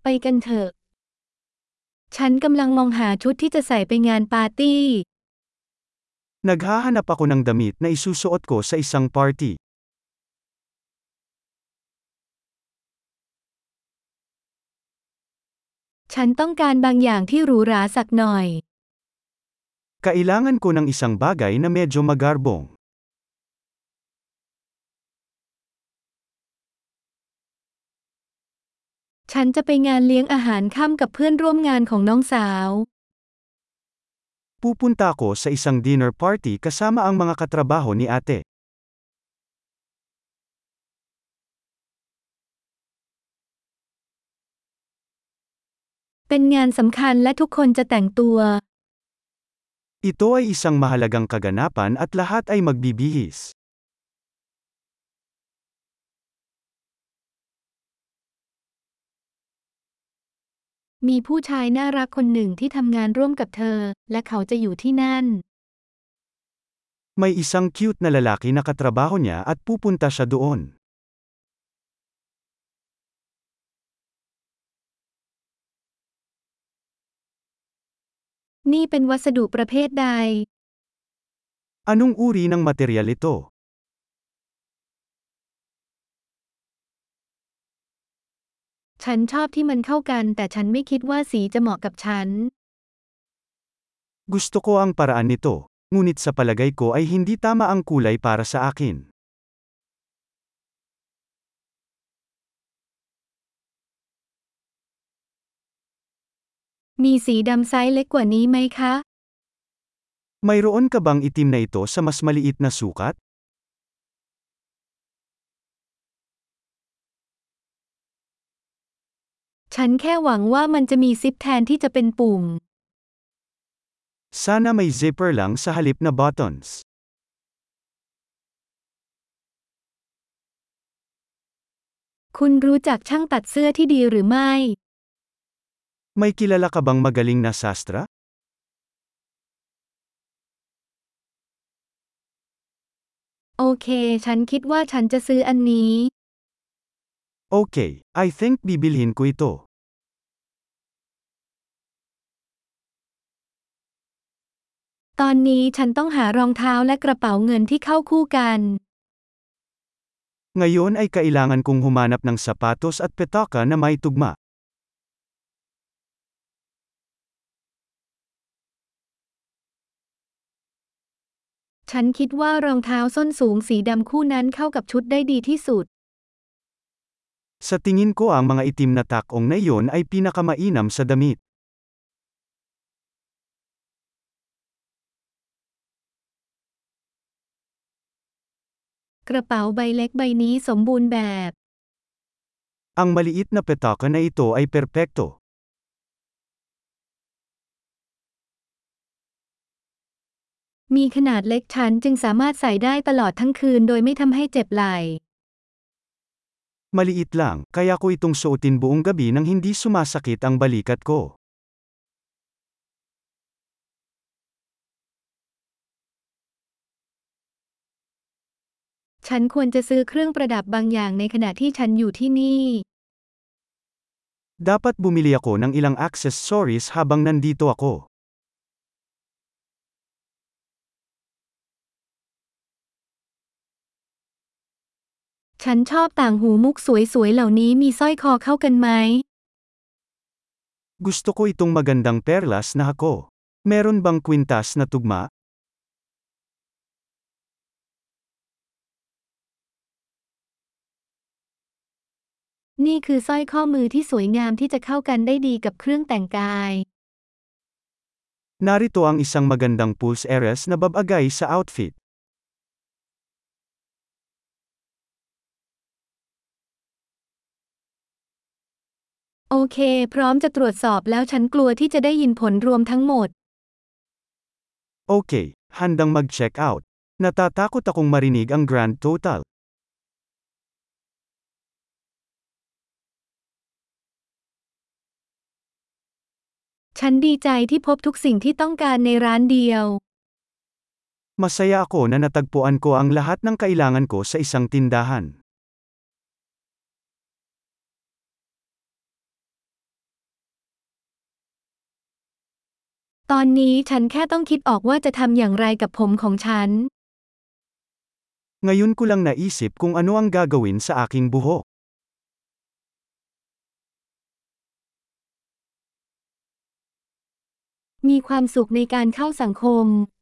กันเถอะฉันกำลังมองหาชุดที่จะใส่ไปงานปาร์ตี้ Naghahanap ako ng damit na isusuot ko sa isang party. ฉันต้องการบางอย่างที่หรูหราสักหน่อย Kailangan ko ng isang bagay na medyo magarbong. ฉันจะไปงานเลี้ยงอาหารค่ำกับเพื่อนร่วมงานของน้องสาว Pupunta ako sa isang dinner party kasama ang mga katrabaho ni ate. เป็นงานสำคัญและทุกคนจะแต่งตัว Ito ay isang mahalagang kaganapan at lahat ay magbibihis. มีผู้ชายน่ารักคนหนึ่งที่ทำงานร่วมกับเธอ และเขาจะอยู่ที่นั่น May isang cute na lalaki na katrabaho niya at pupunta siya doon. นี่เป็นวัสดุประเภทใด Anong uri ng material ito? ฉันชอบที่มันเข้ากันแต่ฉันไม่คิดว่าสีจะเหมาะกับฉัน Gusto ko ang paraan nito, ngunit sa palagay ko ay hindi tama ang kulay para sa akin. มีสีดำไซส์เล็กกว่านี้ไหมคะ Mayroon ka bang itim na ito sa mas maliit na sukat? ฉันแค่หวังว่ามันจะมีซิปแทนที่จะเป็นปุ่ม Sana may zipper lang sa halip na buttons. คุณรู้จักช่างตัดเสื้อที่ดีหรือไม่ May kilala ka bang magaling na sastra? โอเค ฉันคิดว่าฉันจะซื้ออันนี้ Okay, I think bibilhin ko ito. ตอนนี้ฉันต้องหารองเท้าและกระเป๋าเงินที่เข้าคู่กัน Ngayon ay kailangan kong humanap ng sapatos at petaka na may tugma. ฉันคิดว่ารองเท้าส้นสูงสีดำคู่นั้นเข้ากับชุดได้ดีที่สุด Sa tingin ko ang mga itim na takong na iyon ay pinakamainam sa damit. กระเป๋าใบเล็กใบนี้สมบูรณ์แบบ Ang maliit na petaka na ito ay perpekto. มีขนาดเล็กฉันจึงสามารถใส่ได้ตลอดทั้งคืนโดยไม่ทำให้เจ็บไหล่ Maliit lang, kaya ko itong suotin buong gabi nang hindi sumasakit ang balikat ko. ฉันควรจะซื้อเครื่องประดับบางอย่างในขณะที่ฉันอยู่ที่นี่ Dapat bumili ako ng ilang accessories habang nandito ako. ฉันชอบต่างหูมุกสวยๆเหล่านี้มีสร้อยคอเข้ากันไหม Gusto ko itong magandang perlas na hako. Meron bang kwintas na tugma? นี่คือสร้อยข้อมือที่สวยงามที่จะเข้ากันได้ดีกับเครื่องแต่งกาย Narito ang isang magandang pulse earrings na babagay sa outfit. โอเค พร้อมจะตรวจสอบแล้วฉันกลัวที่จะได้ยินผลรวมทั้งหมด Okay, handang mag-check out. Natatakot akong marinig ang grand total. ฉันดีใจที่พบทุกสิ่งที่ต้องการในร้านเดียว Masaya ako na natagpuan ko ang lahat ng kailangan ko sa isang tindahan. ตอนนี้ฉันแค่ต้องคิดออกว่าจะทำอย่างไรกับผมของฉัน Ngayon ko lang naisip kung ano ang gagawin sa aking buhok. มีความสุขในการเข้าสังคม